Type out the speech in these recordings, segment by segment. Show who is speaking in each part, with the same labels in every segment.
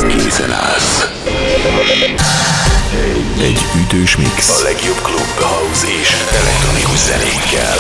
Speaker 1: Készen állsz. Egy ütős mix. A legjobb klub, house és elektronikus zenékkel.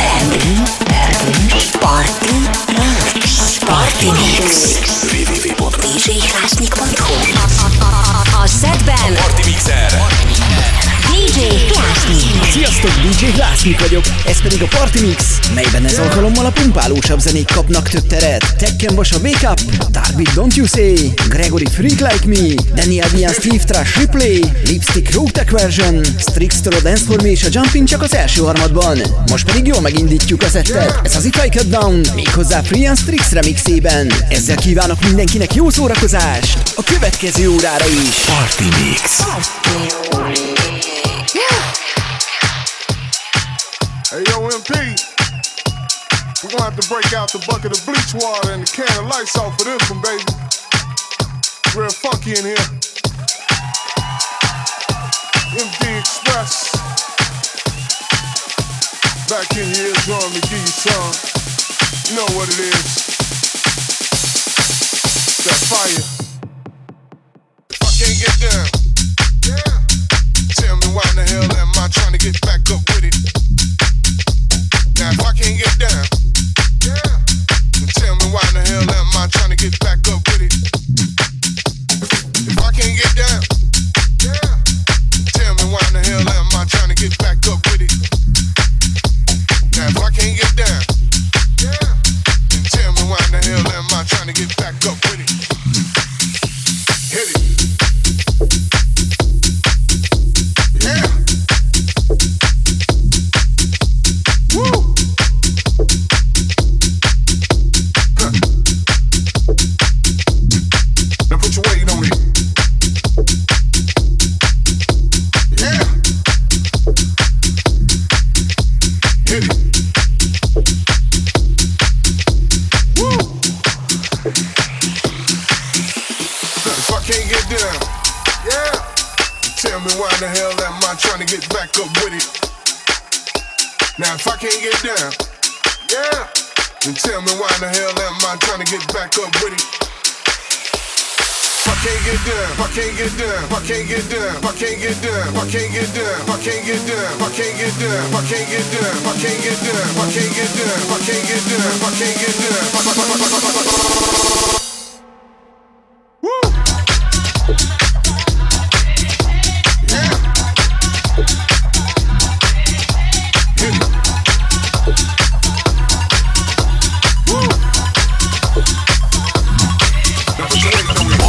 Speaker 2: Party Mix.
Speaker 1: www.djhlásnyik.hu.
Speaker 2: A setben
Speaker 3: Party Mixer.
Speaker 2: DJ Hlásnyik.
Speaker 4: Sziasztok, DJ Hlásnyik vagyok, ez pedig a Party Mix, melyben ez alkalommal a pumpálósabb zenék kapnak több teret. Tekken Vas a Wake Up, Darby Don't You Say, Gregory Freak Like Me, Daniel Bian Steve Trash Replay, Lipstick Rogue Tech Version, Strixter a Dance For Me és a Jumpin csak az első harmadban. Most pedig jól megindítjuk a settet, ez az If I Cut Down, méghozzá Free and Strix remixében. Ezzel kívánok mindenkinek jó szórakozást a következő órára is.
Speaker 1: Party Mix.
Speaker 5: Hey, yo, MP, we're gonna have to break out the bucket of bleach water and the can of lights off for this one, baby. Real funky in here. MD Express. Back in here, drum to give you some. You know what it is. That fire. If I can't get down, yeah. Tell me why in the hell am I trying to get back up with it? Now if I can't get down, yeah, then tell me why in the hell am I trying to get back up with it? If I can't get down, yeah, then tell me why in the hell am I trying to get back up with it? Now if I can't get down, yeah, then tell me why in the hell am I trying to get back up with it? Hit it. Yeah. Woo. Huh. Now put your weight on it. Yeah. Hit it. Woo. If I can't get down, yeah, tell me why in the hell am I trying to get back up with it? Now if I can't get down, yeah, then tell me why in the hell am I trying to get back up with it? If I can't get down, if I can't get down, if I can't get down, if I can't get down, if I can't get down, if I can't get down, if I can't get down, if I can't get down, if I can't get down, if I can't get down, if I can't get down, if I can't get down. Woo! Yeah. Hit it. Woo! Now put your weight on me.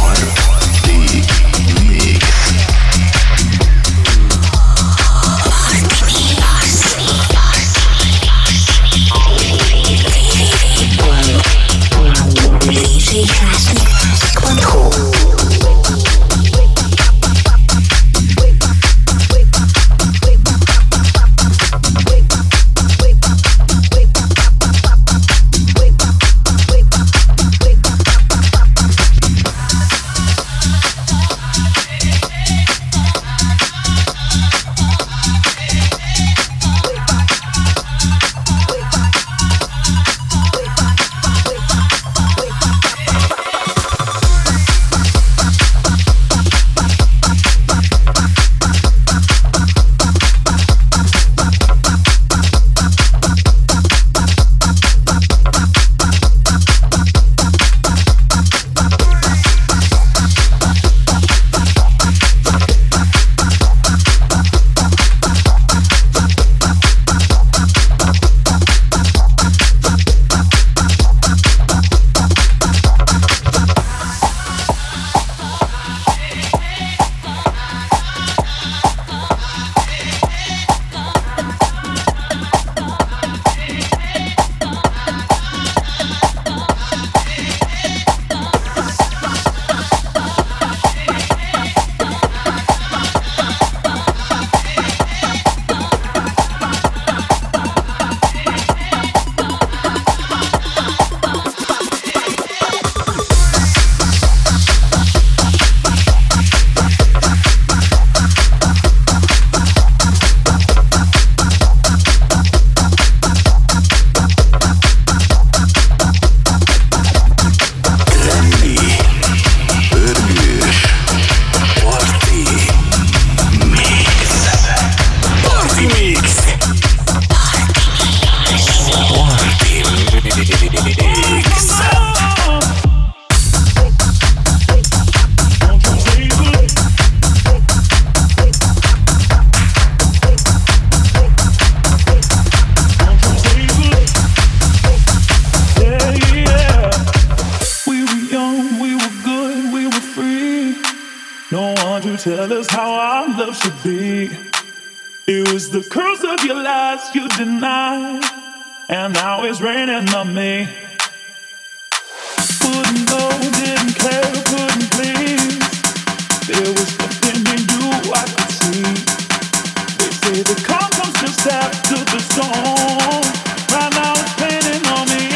Speaker 3: tell us how our love should be. It was the curse of your lies you denied, and now it's raining on me. Wouldn't know, didn't care, couldn't please. There was something in you I could see. They say the calm comes just after the storm. Right now it's raining on me.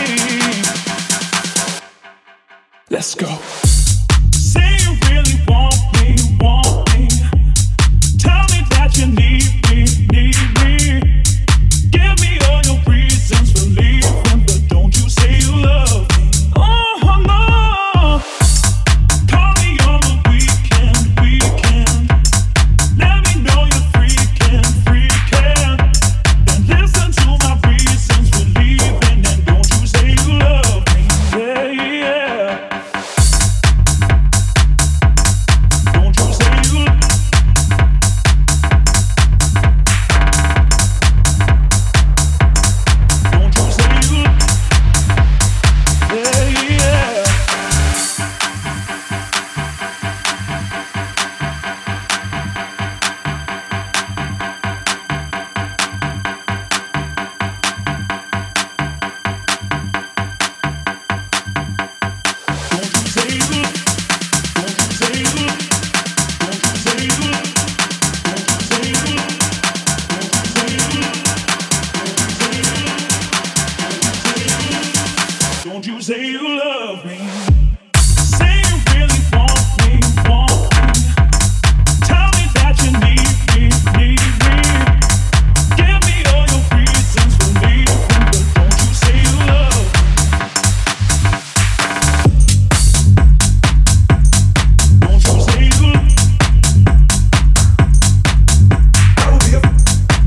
Speaker 3: Let's go. Say you really want me, want me. Tell me that you need me, need me. Give me all your reasons for leaving, but don't you say you love me. Oh no. Call me on the weekend, weekend. Let me know you're freaking, freaking. Then listen to my reasons for leaving, and don't you say you love me. Yeah, yeah. Don't you say you love me. Don't you say you love me. Yeah, yeah. Don't you say you love me. Don't you say you love me. Don't you say you love me. Don't you say you love me. Don't you say you love me. Say you really want me, want me. Tell me that you need me, need me. Give me all your reasons for leaving, but don't you say you love me. Don't you say you love me. Don't you say you love me.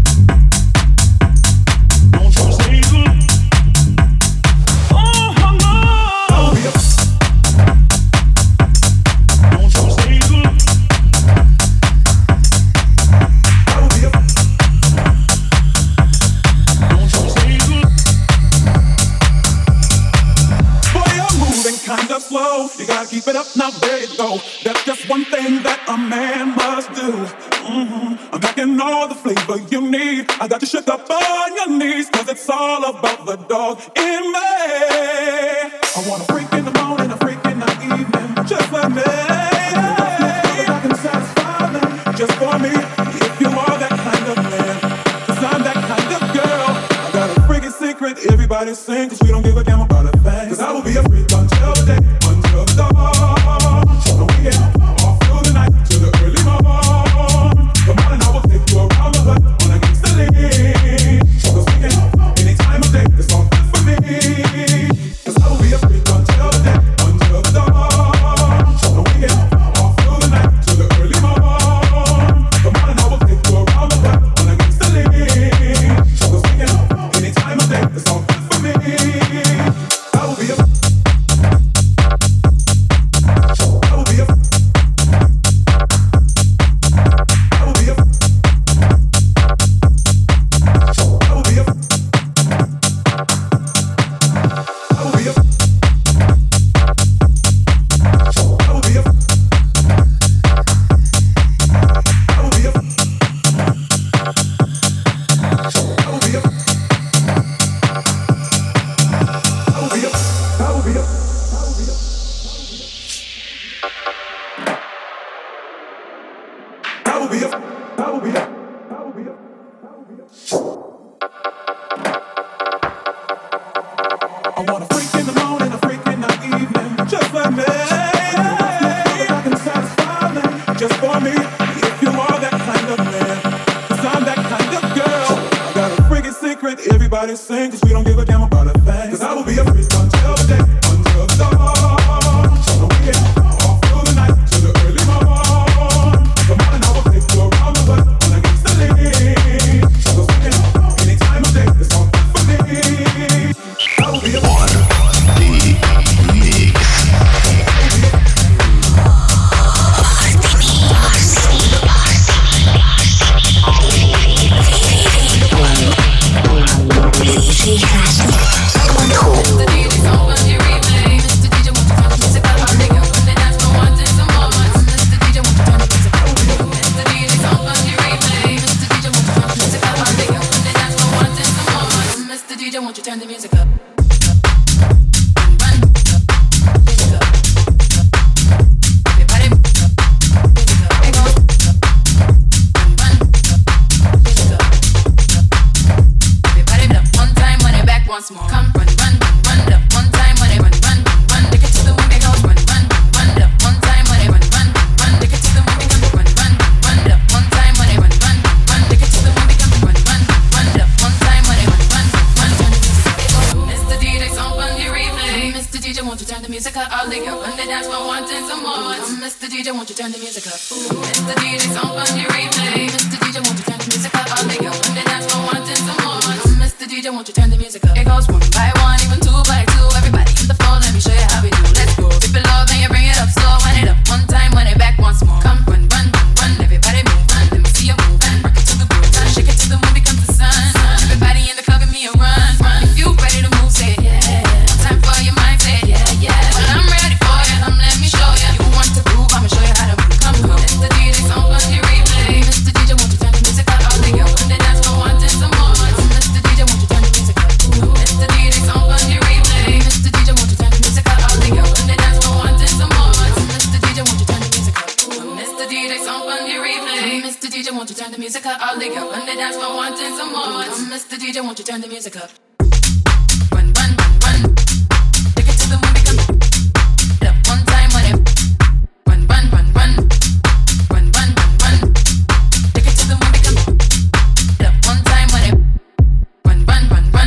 Speaker 3: Oh no. Don't you say you love me. Don't you say you love me.
Speaker 6: Boy, you're moving kind of slow. You gotta keep it up now, there you go. That's just one thing that a man must do. I'm packing all the flavor you need. I got you shook up on your knees, cause it's all about the dog in me. I want a freak in the morning, a freak in the evening. Just let me, I can satisfy them just for me. If you are that kind of man, cause I'm that kind of girl. I got a freaking secret, everybody sing, cause we don't give a damn about a thing. Cause I will be a freak until the day, until the dawn. So the weekend, all through the night, till the early morn. Come on and I will take you around the hood on a gangsta league. Cause we can, any time of day, it's all good for me. Cause I will be a freak until the day, until the dawn. So the weekend, all through the night, till the early morn. Come on and I will take you around the hood on a gangsta league. Cause we can, any time of day, it's all good for me. I will be a
Speaker 7: floor wanting some more. Mr. DJ, won't you turn the music up? Mr. DJ, song on the replay. Mr. DJ, won't you turn the music up? All they go on the dance floor wanting some more. Mr. DJ, won't you turn the music up? It goes 1 by 1, even 2 by 2. Everybody in the floor, let me show you how we do. Let's go. If you love, then you bring it up slow. Wind it up 1 time, wind it back once more. Come run, run, run, run. Everybody move, run. Let me see you move and rock it to the groove. Shake it till the moon becomes the sun. Everybody in the club, give me a run, run. If you ready to move, say it, yeah. Time for your mind, say it, yeah, yeah. Well, I'm ready for you. Come, let me show you. You want to groove, I'ma show you how to move. Come, come. Mr. DJ, song on the replay. Mr. DJ, won't you turn the music up? All they go on the dance floor wanting some more. Mr. DJ, won't you turn the music up? Mr. DJ, song on the replay. Mr. DJ, won't you turn the music up? All they go on the dance floor wanting some more. Mr. DJ, won't you turn the music up? Mr. DJ, song on the replay. Mr. DJ, won't you turn the music up? All they go on the dance floor wanting some more. Mr. DJ, won't you turn the music up? Run, run, run, run. Take it to the moon, become up 1 time, whatever. Run, run, run, run. Run, run, run, run. Take it to the moon, become up 1 time, whatever. Run, run, run, run.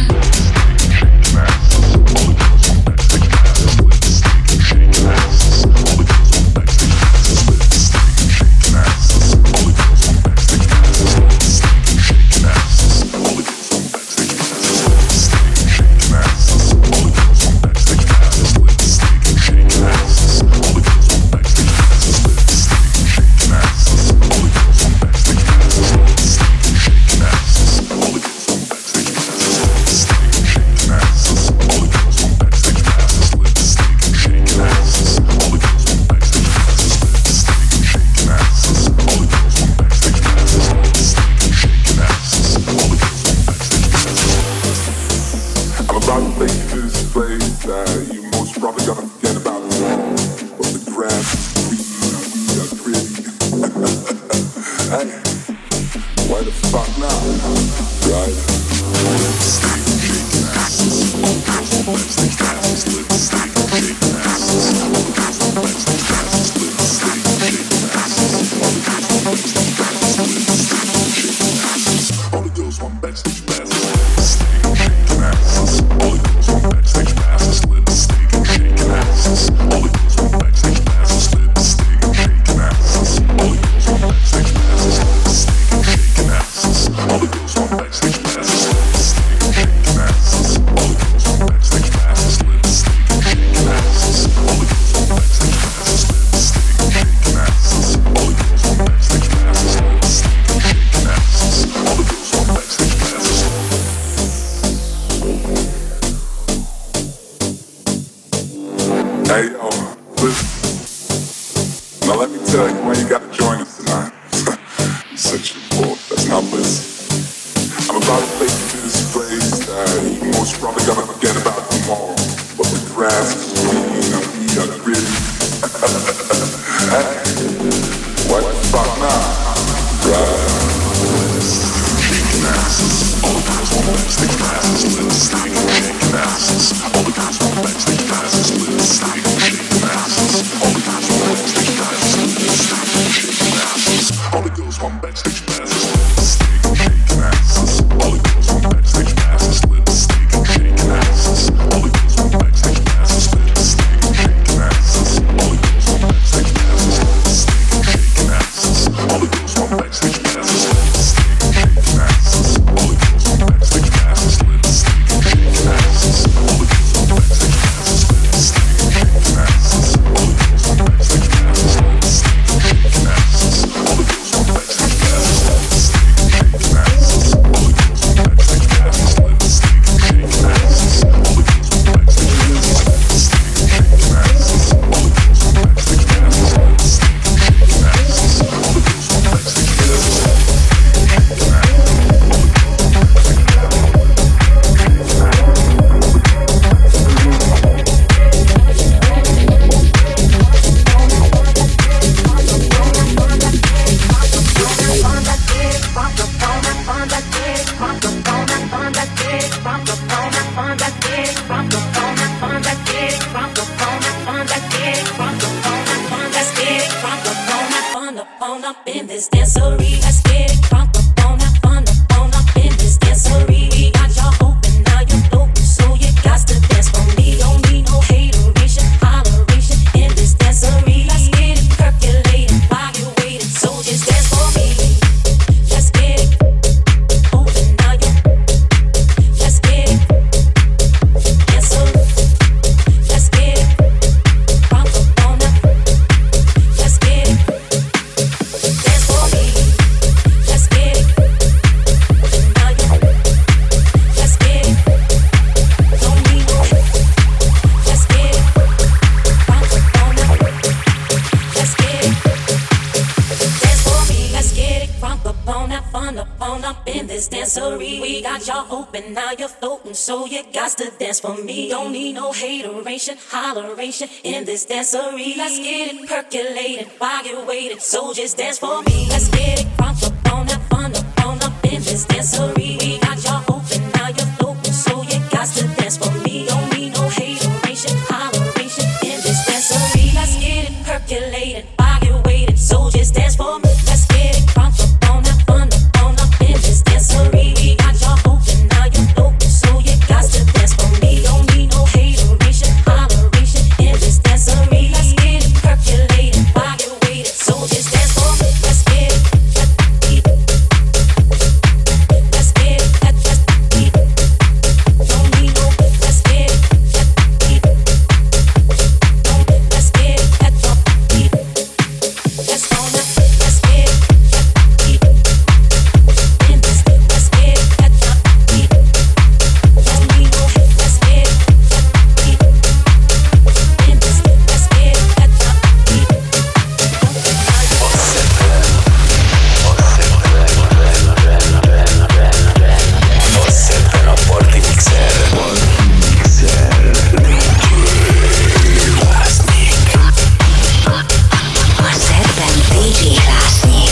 Speaker 8: Dance this dancery. We got y'all open, now you're floating, so you got to dance for me. Don't need no hateration, holleration in this dancery. Let's get it percolated while you're waiting, so just dance for me. Let's get it crunk up on that fun up in this dancery. We got y'all open, now you're floating, so you got to dance for me. Don't need no hateration, holleration in this dancery. Let's get it percolated while you're waiting, so just dance for me. Let's get it crunk up on that fun up in this dancery. We got y'all open, now you're floating, so you got to dance for me. Don't need no hateration, holleration in this dancery. Let's get it percolated while you're waiting, so just dance for me. Let's get it. Let's get it. Don't need no. Let's get it. Let's get it. Let's go now. Let's get it. In this, let's get it. Don't need no. Let's get it. In this, let's get it.
Speaker 1: Osserven a Party Mixer.
Speaker 2: A szedben DJ Hlásnyik.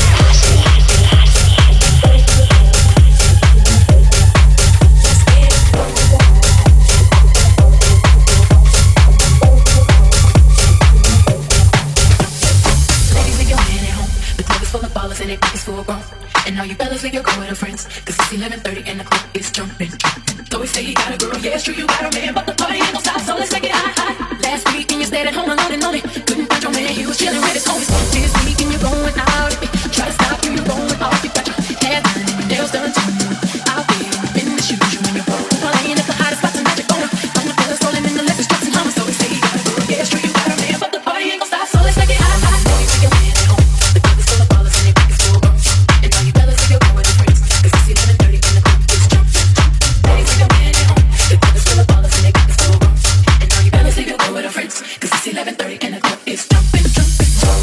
Speaker 7: Ladies, leave your man at home. The club is full of ballers and they think it's full grown. And all you fellas leave your girl with her friends, cause it's 11:30 and the clock is jumping. So we say you got a girl, yeah, it's true, you got a man, but the party ain't gon' stop, so let's make it hot, hot. Last week and you stayed at home alone and lonely. Couldn't find your man, he was chilling with his homies. This week and you're going out, try to stop you, you're going off. You got your hair done and your nails done too. I'll be in the shoes, you and your bro. Playing at the hottest spots and magic on. I'm the fellas rolling in the Lexus trucks and humming. So we say you got a girl, yeah, it's true, you got a man, but the party ain't gon' stop, so let's make it hot, hot. Ladies, leave your man at home. The club is full of ballers and they think it's full grown. And all you fellas leave your girl with her friends, cause it's 11:30 and the clock is jumping. Ladies, leave your man at home. The club is full of ballers and they think it's full grown. And all you fellas leave your girl with her friends, cause it's 11:30 and the clock is jumping, jumping.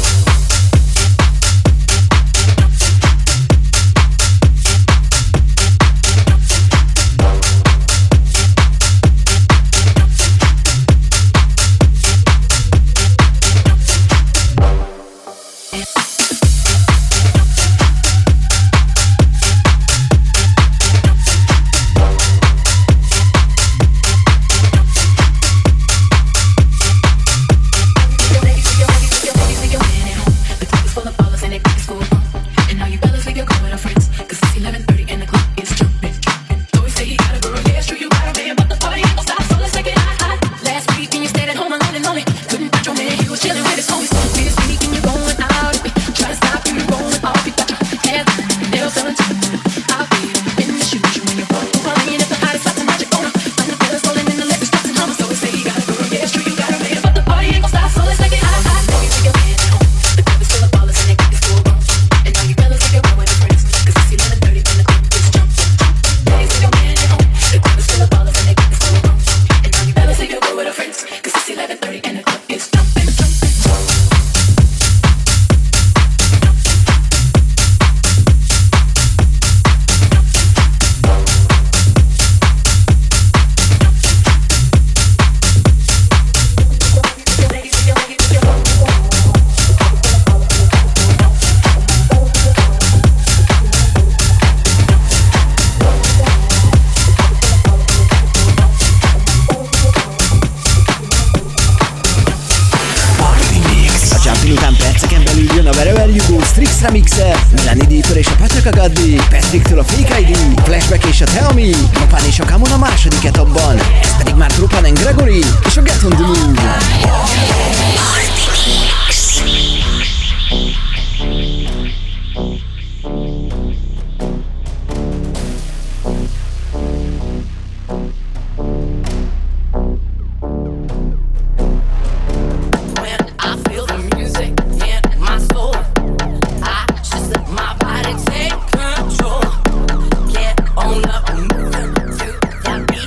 Speaker 4: Remixer, Melanie Deeper és a Pacaka Gaddi, Patricktől a Fake ID, Flashback és a Tell Me, Tropán és a Kamon a második etapban, ez pedig már Tropán and Gregory és a Get on the Move.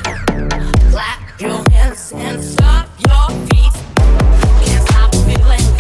Speaker 8: Your hands and stop your feet. Can't stop feeling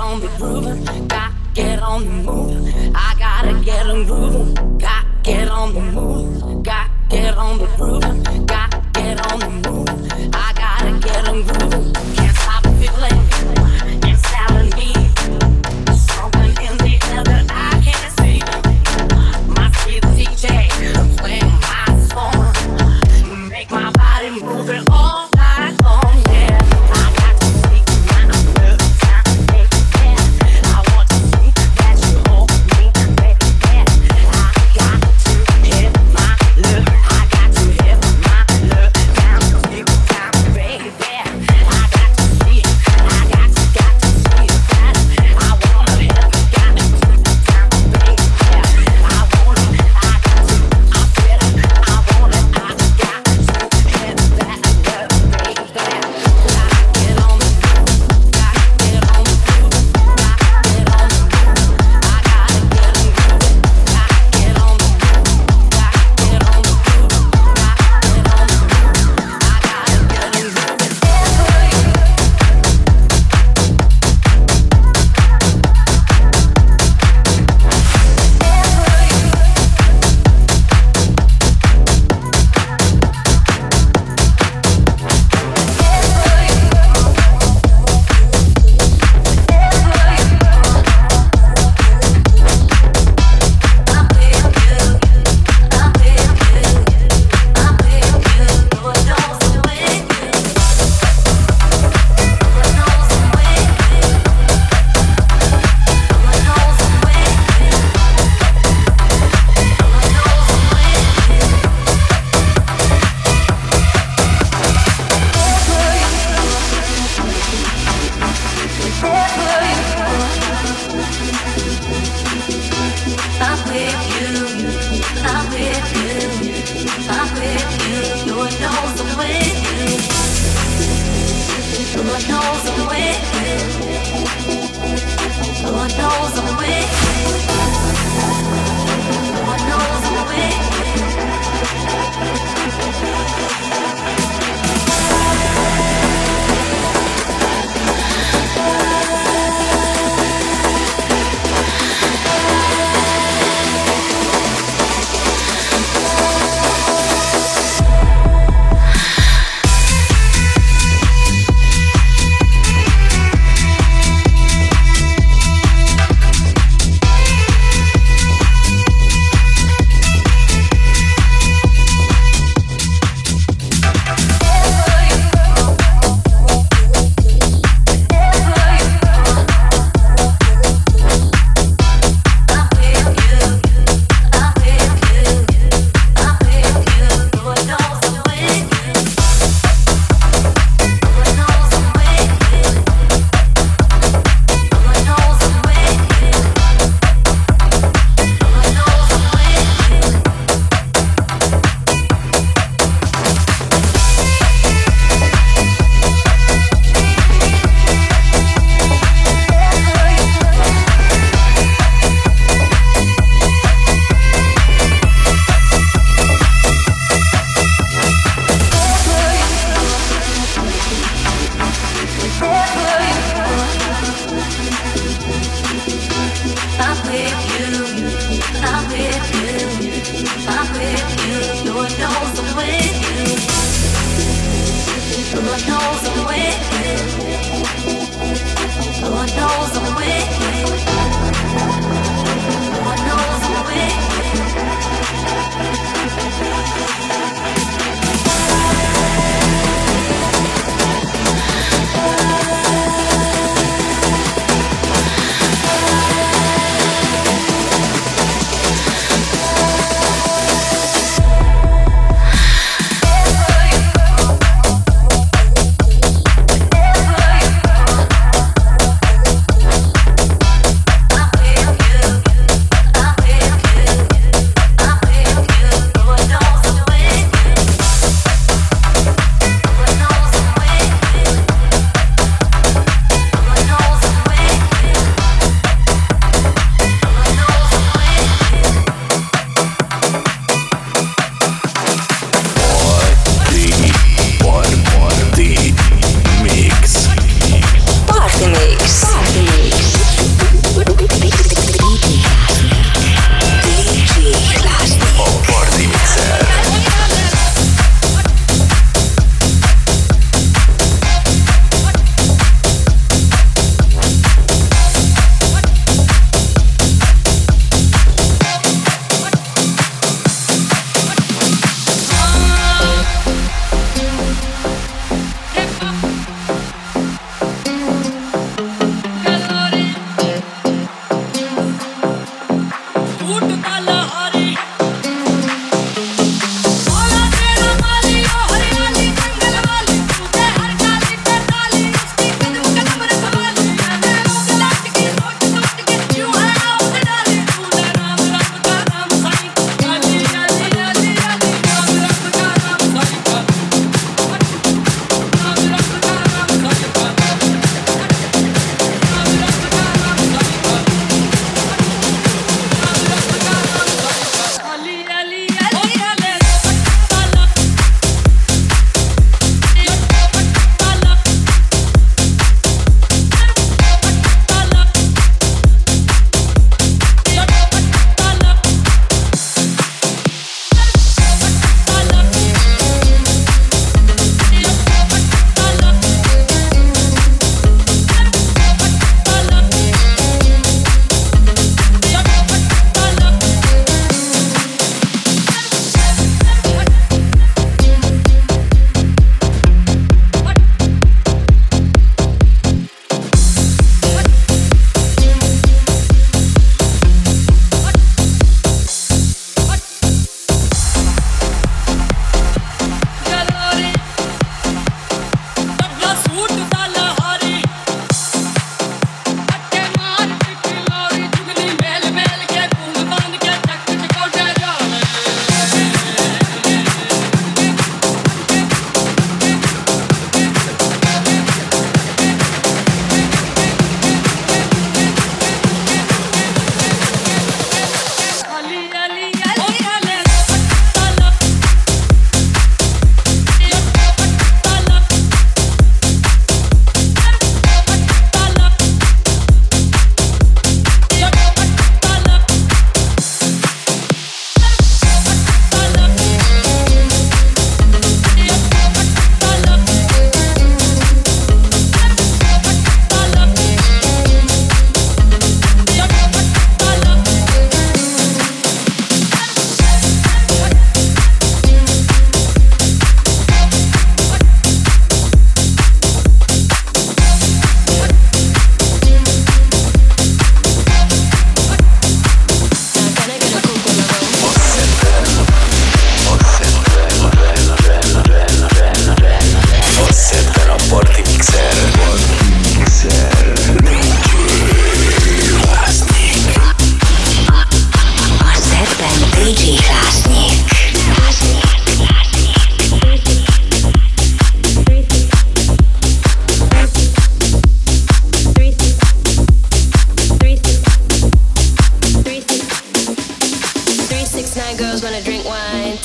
Speaker 8: on the groove, got get on the move. I gotta get on groove, got get on the move, got get on the groove, got get on the move. I gotta get on groove, can't stop feeling inside of me. Something in the air that I can't see. My sweet DJ playing my song, make my body move it all night long. Yeah, I got to see my love, take it. I want to see that you hold me, baby. I got to hit my love, I got to hit my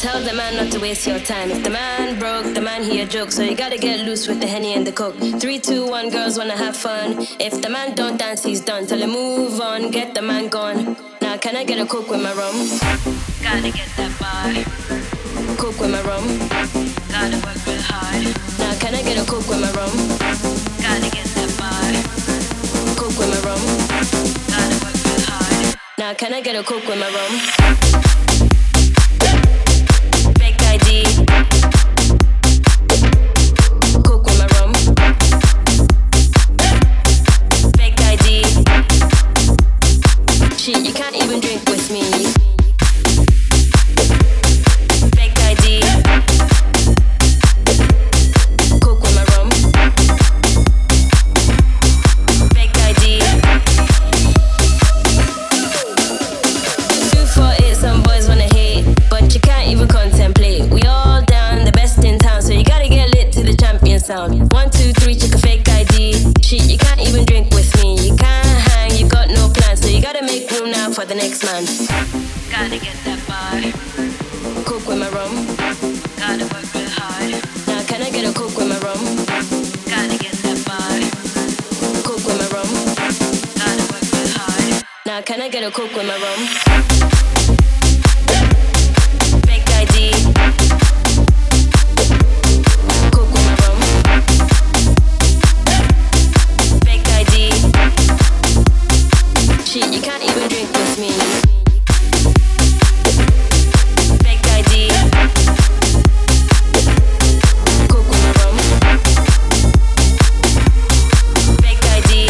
Speaker 9: Tell the man not to waste your time. If the man broke, the man he a joke. So you gotta get loose with the Henny and the Coke. 3, 2, 1, girls wanna have fun. If the man don't dance, he's done. Tell him move on, get the man gone. Now can I get a Coke with my rum? Gotta get that bar. Coke with my rum. Gotta work real hard. Now can I get a Coke with my rum? Gotta get that bar. Coke with my rum. Gotta work real hard. Now can I get a Coke with my rum? ID. Coke with my rum. Fake ID. Shit, you can't even drink with me. Fake ID. Coke with my rum. Fake ID. 248, some boys wanna hate, but you can't even contemplate. We all down, the best in town, so you gotta get lit to the champion sound. 1, 2, 3, check a fake ID. Shit, you can't even drink with me. You can't hang, you got no plans, so you gotta make room now for the next man. Gotta get that bar. Coke with my rum. Gotta work real hard. Now can I get a Coke with my rum? Gotta get that bar. Coke with my rum. Gotta work real hard. Now can I get a Coke with my rum? ID. Coke with my rum. Fake ID. Shit, you can't even drink with me. Fake ID. Coke with my rum. Fake ID.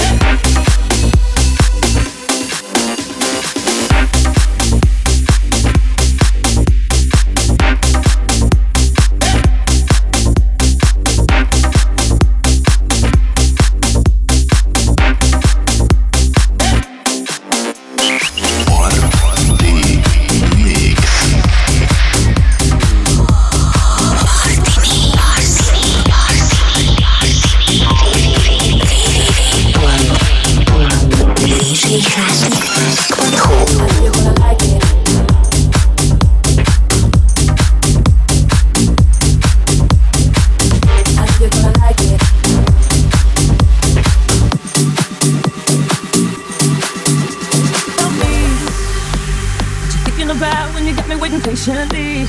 Speaker 6: Patiently.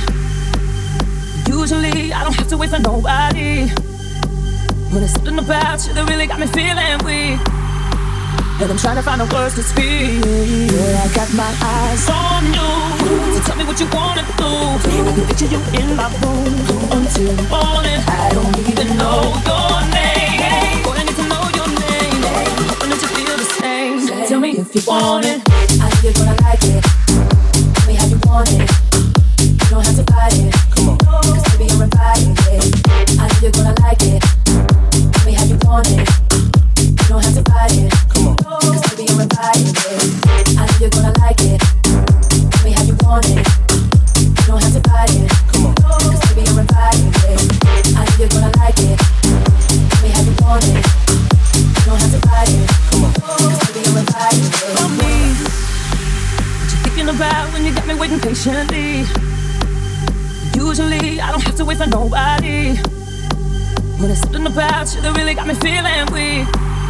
Speaker 6: Usually I don't have to wait for nobody. When it's something about you that really got me feeling weak, and I'm trying to find the words to speak. Yeah, I got my eyes on you, so tell me what you wanna do. I can picture you in my room until the morning. I don't even know your name, but I need to know your name. Hoping that you feel the same. Tell me if you want it. I know you're gonna like it. Tell me how you want it. You don't have to fight it. Come on. Cause baby, you're invited. I know you're gonna like it. Tell me how you want it. You don't have to fight it. Come on. Cause baby, you're invited. I know you're gonna like it. Tell me how you want it. You don't have to fight it. Come on. Cause baby, you're invited. I know you're gonna like it. Tell me how you want it. You don't have to fight it. Come on. Cause baby, you're invited. For me, what you thinking about when you got me waiting patiently? Usually I don't have to wait for nobody. When it's something about you that really got me feeling weak,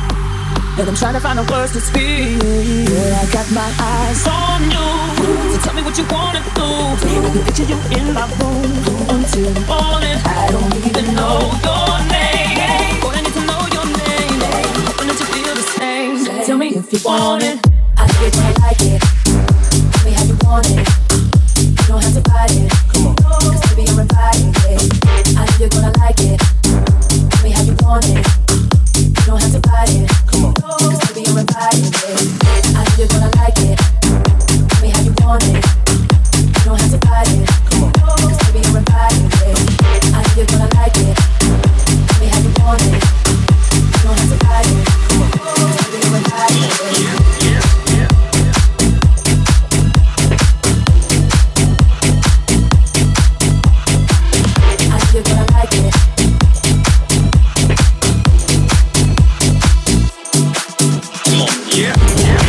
Speaker 6: and I'm trying to find the words to speak. Yeah, I got my eyes on you, so tell me what you wanna do. I can picture you in my room until the morning. I don't even know your name, but I need to know your name. Hoping that you feel the same. Tell me if you want it. I know you're gonna like it. Tell me how you want it. You don't have to fight it. Come on. Cause baby, you're invited. I know you're gonna like it. Tell me how you want it. You don't have to fight it. Come on. Cause baby, you're invited. I know you're gonna like it. Tell me how you want it. You don't have to fight it. Come on. Cause baby, you're invited. I know you're gonna like it. Tell me how you want it. You don't have to fight it. Come on. Cause baby, you're invited.
Speaker 1: Yeah.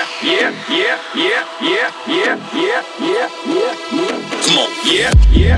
Speaker 1: Come on, yeah.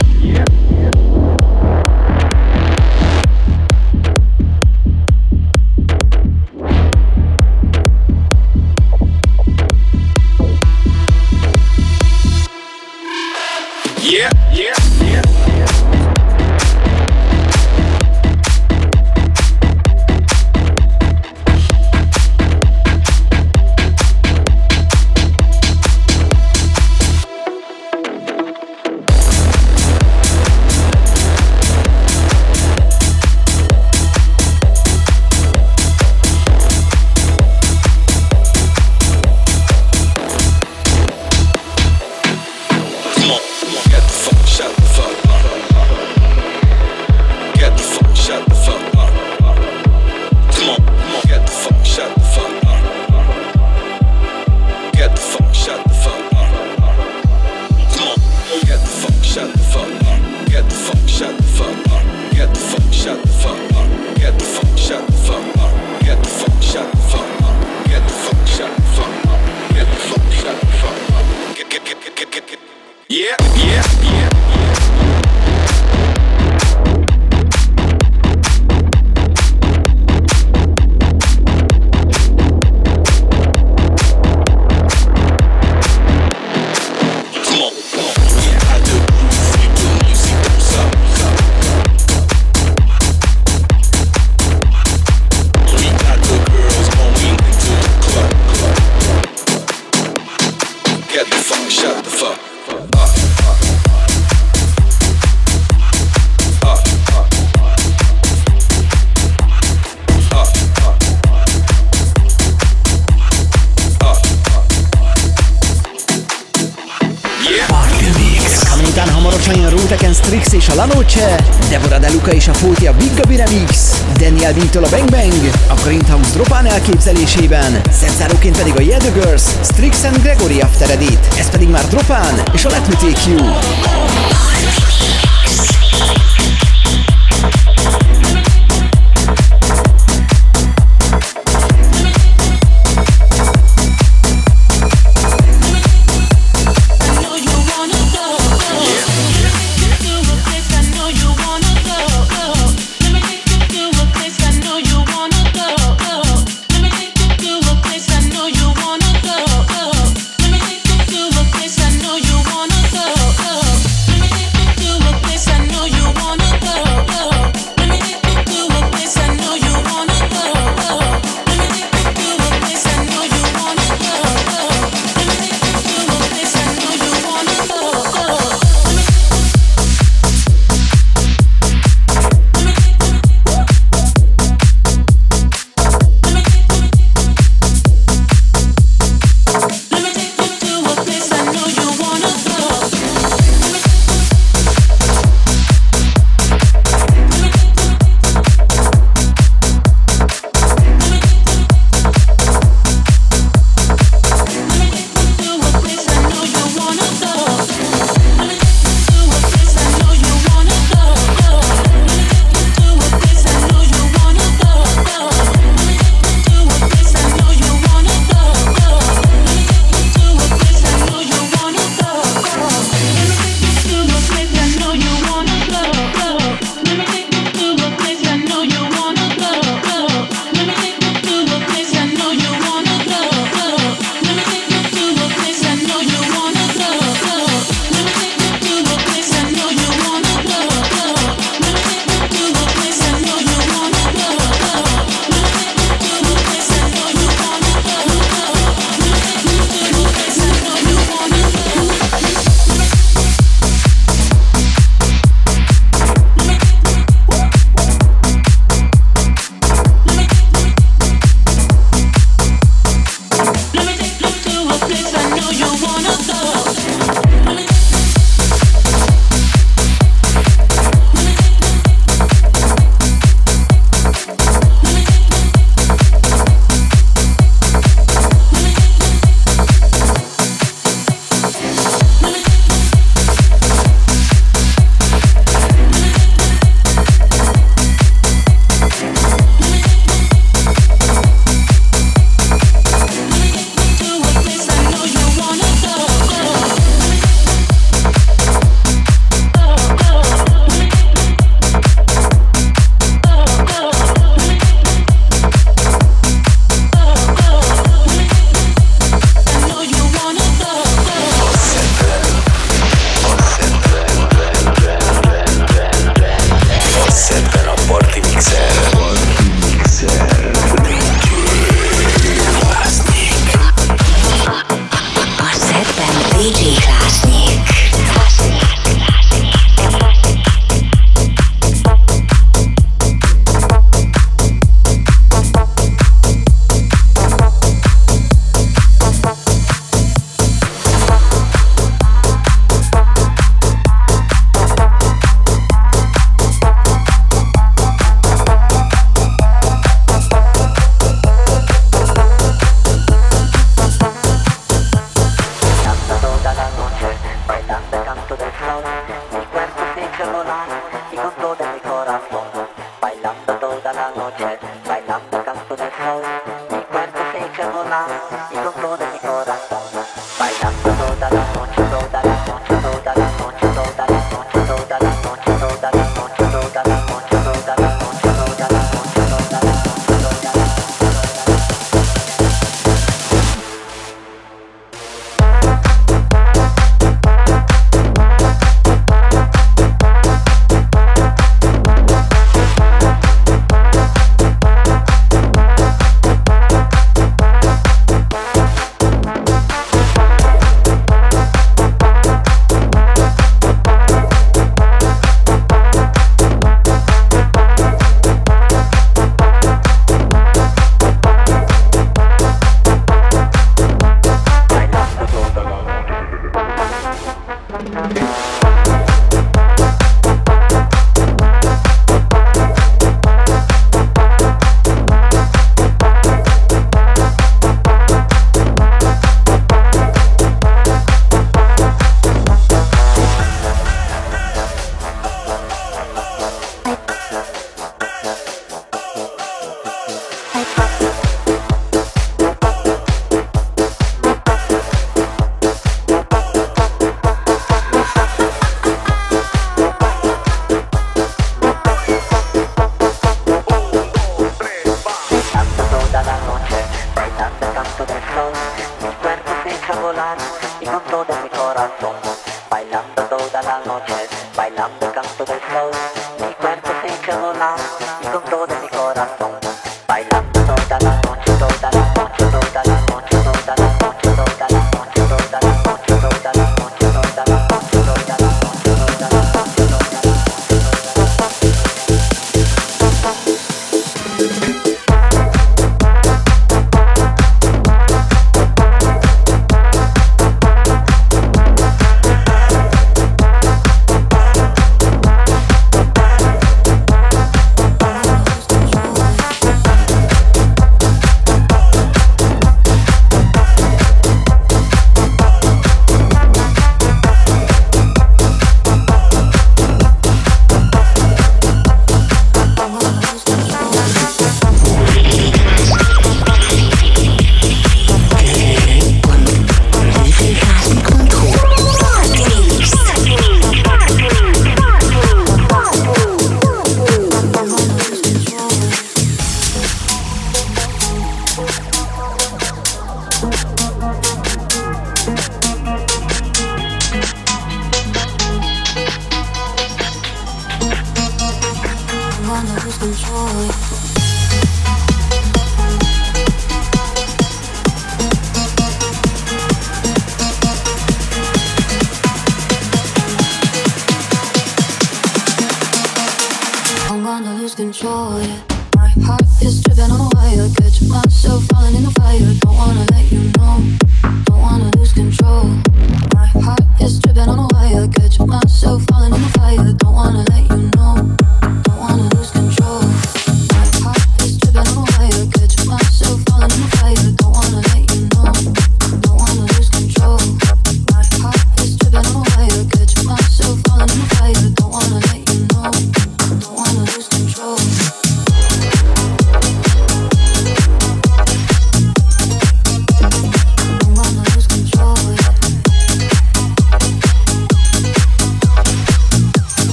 Speaker 4: Strix és a La Noche, Deborah De Luca és a Fóti a Big Gabi Remix, Daniel B-től a Bang Bang, a Grindhouse Dropán elképzelésében, szetzáróként pedig a Yeah The Girls, Strix and Gregory After Edit, ez pedig már Dropán és a Let Me Take You.
Speaker 10: Let me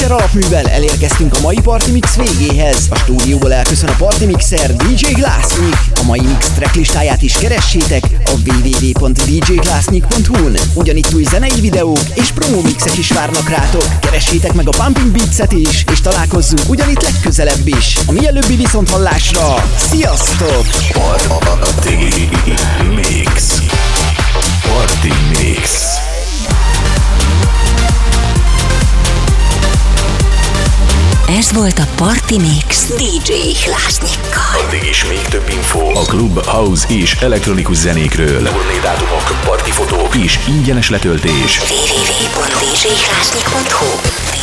Speaker 4: Mixer alapművel elérkeztünk a mai Party Mix végéhez. A stúdióból elköszön a Party Mixer DJ Glassnik. A mai mix tracklistáját is keressétek a www.djglassnik.hu-n. Ugyanitt új zenei videók és promo mixek is várnak rátok. Keressétek meg a Pumping Beats-et is, és találkozzunk ugyanitt legközelebb is. A mielőbbi viszonthallásra, sziasztok!
Speaker 1: Party Mix. Party Mix.
Speaker 2: Ez volt a Party Mix DJ Glassnikkal.
Speaker 1: Addig is még több info a klub, house és elektronikus zenékről. Turnédátumok, partifotók és ingyenes letöltés.
Speaker 2: www.djglassnik.hu